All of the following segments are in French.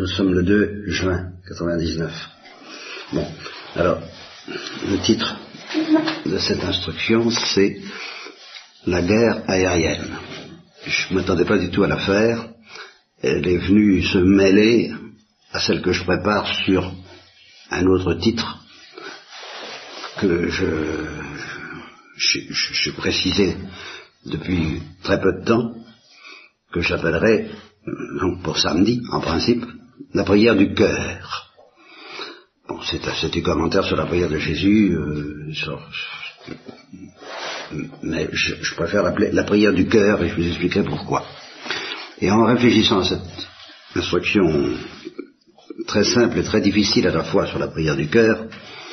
sommes le 2 juin 99. Bon, alors, le titre de cette instruction, c'est la guerre aérienne. Je ne m'attendais pas du tout à la faire. Elle est venue se mêler à celle que je prépare sur un autre titre que je précisais depuis très peu de temps, que j'appellerai, donc pour samedi, en principe, la prière du cœur. Bon, c'est du commentaire sur la prière de Jésus, mais je préfère l'appeler la prière du cœur, et je vous expliquerai pourquoi. Et en réfléchissant à cette instruction très simple et très difficile à la fois sur la prière du cœur,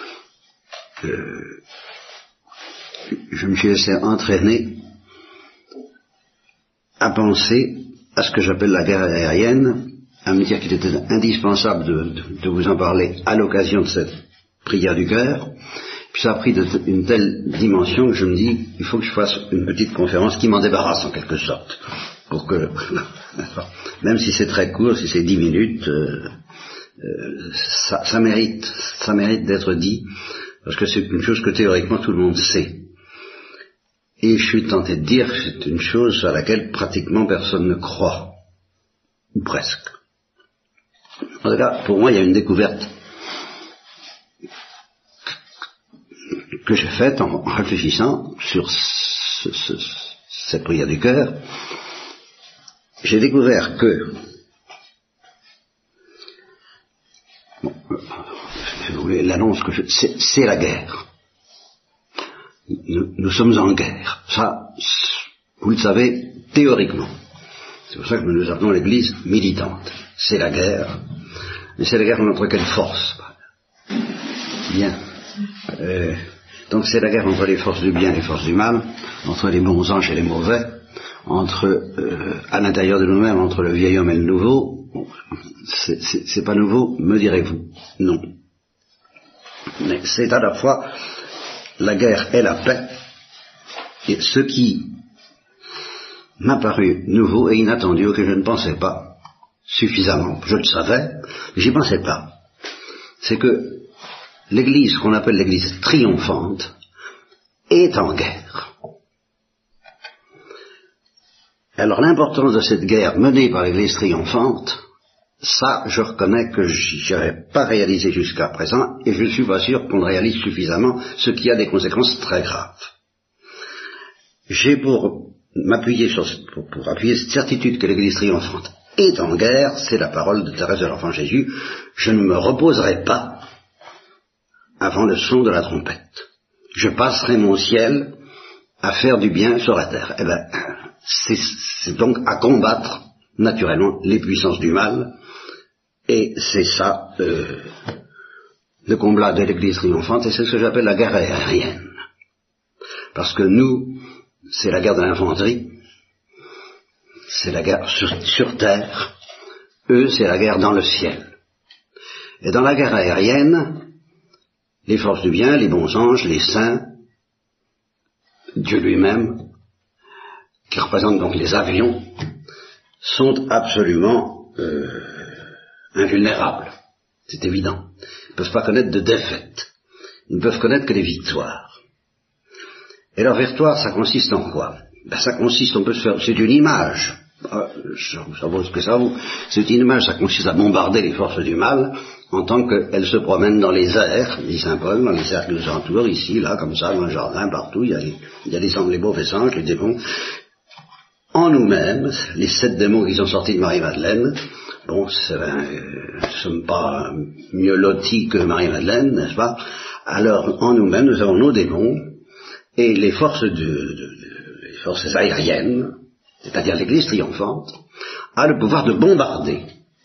je me suis laissé entraîner à penser à ce que j'appelle la guerre aérienne, à me dire qu'il était indispensable de vous en parler à l'occasion de cette prière du cœur. Puis ça a pris une telle dimension que je me dis, il faut que je fasse une petite conférence qui m'en débarrasse en quelque sorte, pour que, même si c'est très court, si c'est 10 minutes, ça mérite d'être dit, parce que c'est une chose que théoriquement tout le monde sait. Et je suis tenté de dire que c'est une chose à laquelle pratiquement personne ne croit, ou presque. En tout cas, pour moi, il y a une découverte que j'ai faite en réfléchissant sur cette prière du cœur. J'ai découvert que, bon, si vous voulez, l'annonce que c'est la guerre. Nous sommes en guerre. Ça, vous le savez, théoriquement. C'est pour ça que nous appelons l'Église militante. C'est la guerre. Mais c'est la guerre contre quelle force? Bien. Donc c'est la guerre entre les forces du bien et les forces du mal, entre les bons anges et les mauvais, à l'intérieur de nous-mêmes, entre le vieil homme et le nouveau. Bon, c'est pas nouveau, me direz-vous. Non. Mais c'est à la fois la guerre et la paix, et ce qui m'a paru nouveau et inattendu, auquel je ne pensais pas suffisamment. Je le savais, mais j'y pensais pas. C'est que l'Église, qu'on appelle l'Église triomphante, est en guerre. Alors l'importance de cette guerre menée par l'Église triomphante, ça, je reconnais que je n'avais pas réalisé jusqu'à présent, et je ne suis pas sûr qu'on le réalise suffisamment, ce qui a des conséquences très graves. J'ai pour m'appuyer pour appuyer cette certitude que l'Église triomphante est en guerre, c'est la parole de Thérèse de l'Enfant Jésus, je ne me reposerai pas avant le son de la trompette. Je passerai mon ciel à faire du bien sur la terre. Eh bien, c'est donc à combattre, naturellement, les puissances du mal, et c'est ça, le combat de l'Église triomphante, et c'est ce que j'appelle la guerre aérienne. Parce que nous, c'est la guerre de l'infanterie, c'est la guerre sur terre, eux, c'est la guerre dans le ciel. Et dans la guerre aérienne, les forces du bien, les bons anges, les saints, Dieu lui-même, qui représente donc les avions, sont absolument invulnérables. C'est évident. Ils ne peuvent pas connaître de défaite. Ils ne peuvent connaître que des victoires. Et leur victoire, ça consiste en quoi? Ça consiste, on peut se faire, c'est une image. Ça vaut ce que ça vaut. C'est une image, ça consiste à bombarder les forces du mal, en tant qu'elles se promènent dans les airs, dit saint Paul, dans les airs qui nous entourent, ici, là, comme ça, dans le jardin, partout, il y a les mauvais anges, les démons. En nous-mêmes, les 7 démons qui sont sortis de Marie-Madeleine, bon, nous ne sommes pas mieux lotis que Marie-Madeleine, n'est-ce pas? Alors, en nous-mêmes, nous avons nos démons, et les forces les forces aériennes, c'est-à-dire l'Église triomphante, a le pouvoir de bombarder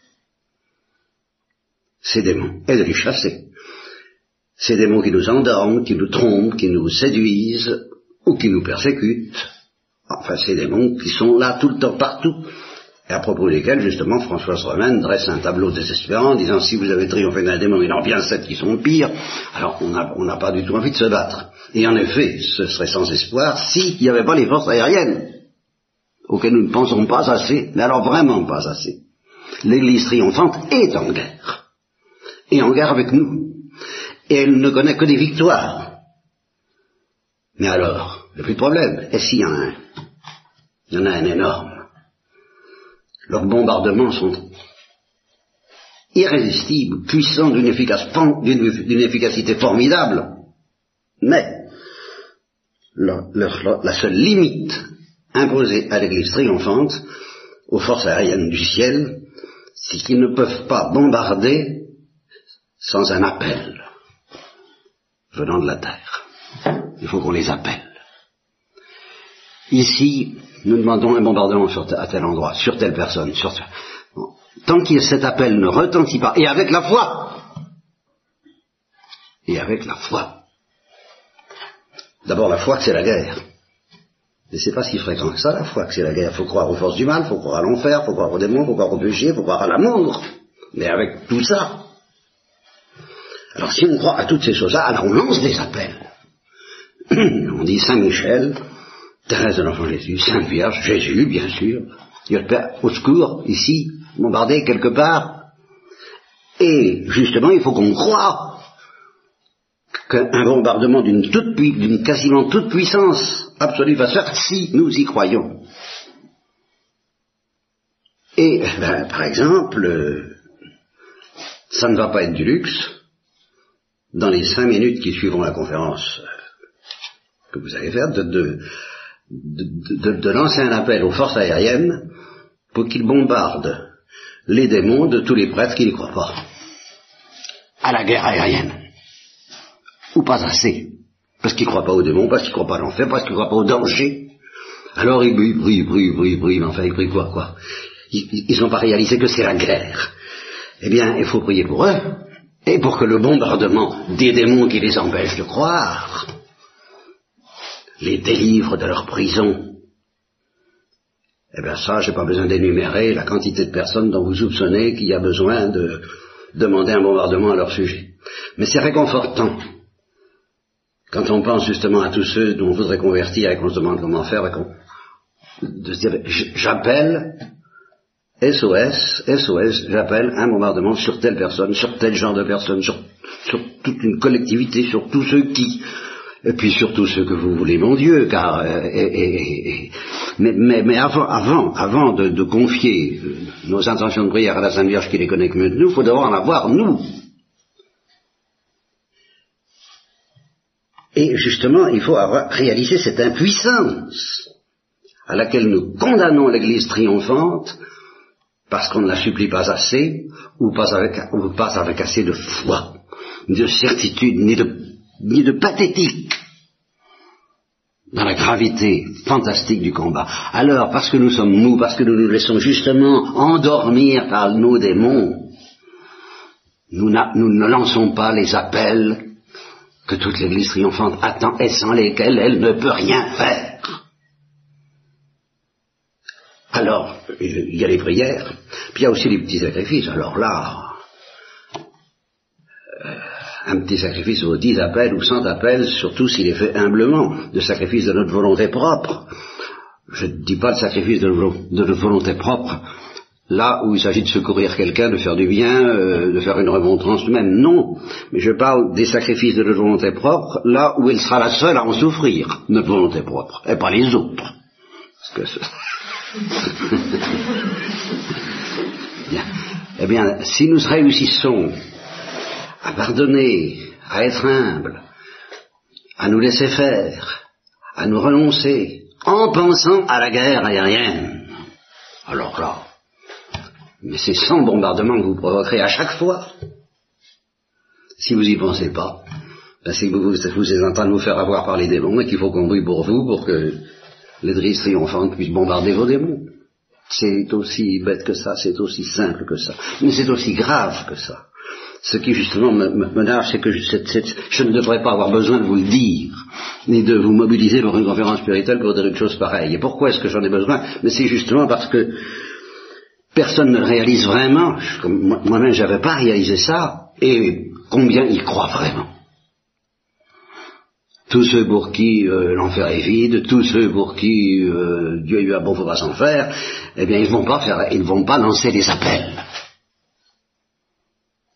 ces démons et de les chasser. Ces démons qui nous endorment, qui nous trompent, qui nous séduisent ou qui nous persécutent. Enfin, ces démons qui sont là tout le temps, partout. Et à propos desquels, justement, Françoise Romaine dresse un tableau désespérant, disant si vous avez triomphé d'un démon, il en vient 7 qui sont pires. Alors, on n'a pas du tout envie de se battre. Et en effet, ce serait sans espoir s'il n'y avait pas les forces aériennes, auxquelles nous ne pensons pas assez, mais alors vraiment pas assez. L'Église triomphante est en guerre. Et en guerre avec nous. Et elle ne connaît que des victoires. Mais alors, il n'y a plus de problème. Et s'il y en a un? Il y en a un énorme. Leurs bombardements sont irrésistibles, puissants, d'une efficacité formidable. Mais la seule limite imposée à l'Église triomphante, aux forces aériennes du ciel, c'est qu'ils ne peuvent pas bombarder sans un appel venant de la terre. Il faut qu'on les appelle. Ici, nous demandons un bombardement à tel endroit, sur telle personne, Bon. Tant que cet appel ne retentit pas, et avec la foi, d'abord la foi que c'est la guerre. Et c'est pas si fréquent que ça, la foi que c'est la guerre. Faut croire aux forces du mal, faut croire à l'enfer, faut croire aux démons, faut croire au péché, faut croire à l'amour. Mais avec tout ça, alors si on croit à toutes ces choses-là, alors on lance des appels. On dit Saint Michel, Thérèse de l'Enfant Jésus, Sainte Vierge, Jésus, bien sûr, Dieu le Père, au secours, ici, bombardé quelque part. Et justement, il faut qu'on croie qu'un bombardement d'une quasiment toute puissance absolue va se faire si nous y croyons. Et, par exemple, ça ne va pas être du luxe. Dans les 5 minutes qui suivront la conférence que vous allez faire, de lancer un appel aux forces aériennes pour qu'ils bombardent les démons de tous les prêtres qui n'y croient pas à la guerre aérienne. Ou pas assez. Parce qu'ils ne croient pas aux démons, parce qu'ils ne croient pas à l'enfer, parce qu'ils ne croient pas au danger. Alors ils brillent, mais enfin ils brillent quoi. Ils n'ont pas réalisé que c'est la guerre. Eh bien, il faut prier pour eux, et pour que le bombardement des démons qui les empêchent de croire les délivre de leur prison. Eh bien ça, j'ai pas besoin d'énumérer la quantité de personnes dont vous soupçonnez qu'il y a besoin de demander un bombardement à leur sujet. Mais c'est réconfortant quand on pense justement à tous ceux dont on voudrait convertir et qu'on se demande comment faire, de se dire, j'appelle SOS, j'appelle un bombardement sur telle personne, sur tel genre de personne, sur toute une collectivité, sur tous ceux qui, et puis sur tous ceux que vous voulez, mon Dieu, car, mais avant de confier nos intentions de prière à la Sainte Vierge qui les connaît que mieux que nous, il faut d'abord en avoir, nous. Et justement, il faut avoir réalisé cette impuissance à laquelle nous condamnons l'Église triomphante parce qu'on ne la supplie pas assez ou pas avec assez de foi, ni de certitude, ni de pathétique dans la gravité fantastique du combat. Alors, parce que nous sommes mous, parce que nous nous laissons justement endormir par nos démons, nous ne lançons pas les appels que toute l'Église triomphante attend et sans lesquels elle ne peut rien faire. Alors, il y a les prières, puis il y a aussi les petits sacrifices. Alors là, un petit sacrifice vaut 10 appels ou 100 appels, surtout s'il est fait humblement, de sacrifice de notre volonté propre. Je ne dis pas le sacrifice de notre volonté propre, là où il s'agit de secourir quelqu'un, de faire du bien, de faire une remontrance même, non. Mais je parle des sacrifices de notre volonté propre, là où elle sera la seule à en souffrir, notre volonté propre, et pas les autres. Parce que bien. Eh bien, si nous réussissons à pardonner, à être humbles, à nous laisser faire, à nous renoncer, en pensant à la guerre aérienne, alors là, mais c'est 100 bombardements que vous provoquerez à chaque fois. Si vous n'y pensez pas, ben c'est que vous êtes en train de vous faire avoir par les démons et qu'il faut qu'on brille pour vous pour que l'Église triomphante puisse bombarder vos démons. C'est aussi bête que ça, c'est aussi simple que ça, mais c'est aussi grave que ça. Ce qui justement me nage, c'est que je ne devrais pas avoir besoin de vous le dire, ni de vous mobiliser pour une conférence spirituelle pour dire une chose pareille. Et pourquoi est-ce que j'en ai besoin? Mais c'est justement parce que personne ne le réalise vraiment. Moi-même, je n'avais pas réalisé ça. Et combien y croient vraiment? Tous ceux pour qui l'enfer est vide, tous ceux pour qui Dieu lui a bon, faut pas s'en faire, eh bien ils ne vont pas lancer des appels.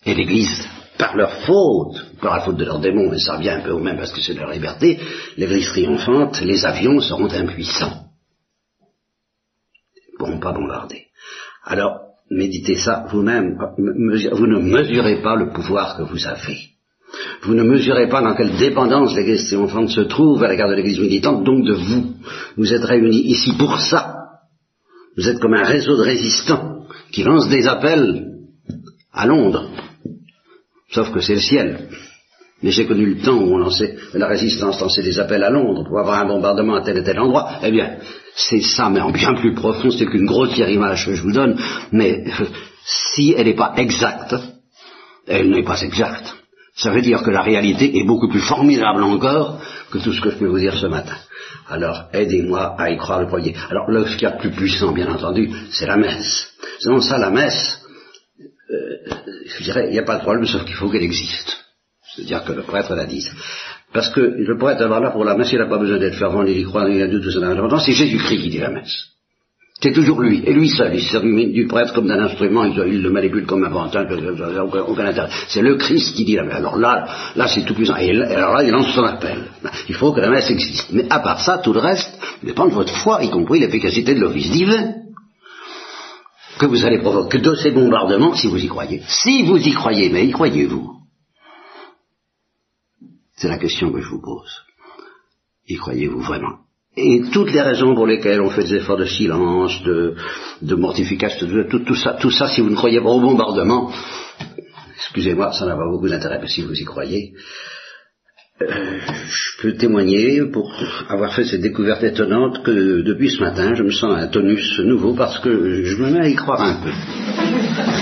Et l'Église, par leur faute, par la faute de leurs démons, mais ça revient un peu au même parce que c'est leur liberté, l'Église triomphante, les avions seront impuissants. Ils ne pourront pas bombarder. Alors, méditez ça vous-même, vous ne mesurez pas le pouvoir que vous avez. Vous ne mesurez pas dans quelle dépendance l'Église triomphante se trouve à l'égard de l'Église militante, donc de vous. Vous êtes réunis ici pour ça. Vous êtes comme un réseau de résistants qui lance des appels à Londres. Sauf que c'est le ciel. Mais j'ai connu le temps où on lançait, la résistance lançait des appels à Londres pour avoir un bombardement à tel et tel endroit. Eh bien, c'est ça, mais en bien plus profond, c'est qu'une grossière image que je vous donne, mais si elle n'est pas exacte, elle n'est pas exacte. Ça veut dire que la réalité est beaucoup plus formidable encore que tout ce que je peux vous dire ce matin. Alors, aidez-moi à y croire le premier. Alors, là, ce qu'il y a de plus puissant, bien entendu, c'est la messe. Sinon, ça, la messe, je dirais, il n'y a pas de problème, sauf qu'il faut qu'elle existe. C'est-à-dire que le prêtre la dise. Parce que le prêtre, alors là, pour la messe, il n'a pas besoin d'être fervent, il y croit, il y a tout ça dans l'importance, c'est Jésus-Christ qui dit la messe. C'est toujours lui, et lui seul, il sert du prêtre comme d'un instrument, il le manipule comme un pantin, aucun intérêt. C'est le Christ qui dit la messe. Alors là c'est tout puissant. Et alors là, il lance son appel. Il faut que la messe existe. Mais à part ça, tout le reste dépend de votre foi, y compris l'efficacité de l'office divin que vous allez provoquer de ces bombardements, si vous y croyez. Si vous y croyez, mais y croyez-vous? C'est la question que je vous pose. Y croyez-vous vraiment? Et toutes les raisons pour lesquelles on fait des efforts de silence, de mortification, tout ça, si vous ne croyez pas au bombardement, excusez-moi, ça n'a pas beaucoup d'intérêt, mais si vous y croyez, je peux témoigner pour avoir fait cette découverte étonnante que depuis ce matin, je me sens un tonus nouveau parce que je me mets à y croire un peu.